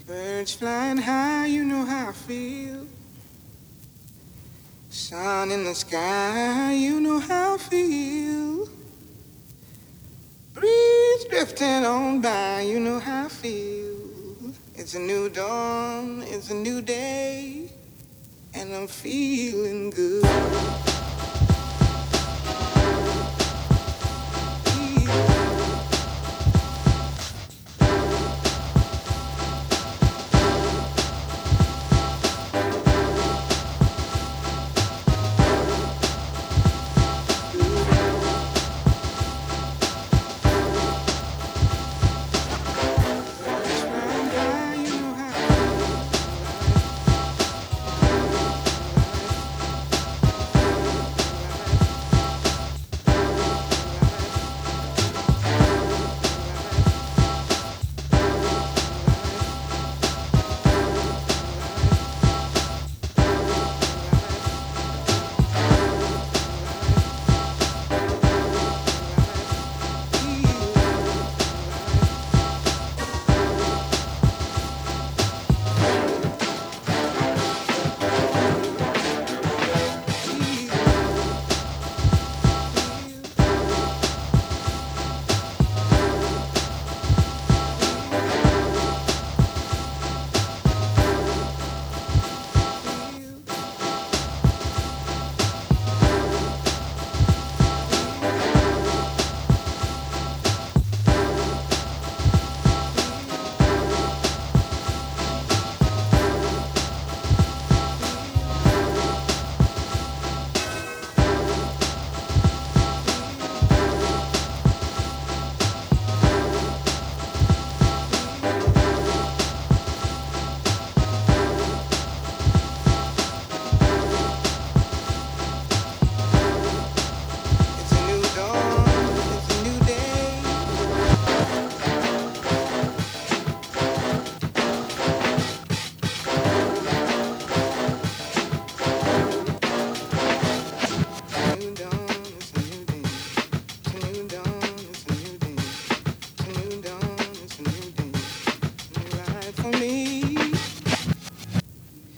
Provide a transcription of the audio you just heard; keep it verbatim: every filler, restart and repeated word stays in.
Birds flying high, you know how I feel. Sun in the sky, you know how I feel. Breeze drifting on by, you know how I feel. It's a new dawn, it's a new day, and I'm feeling good.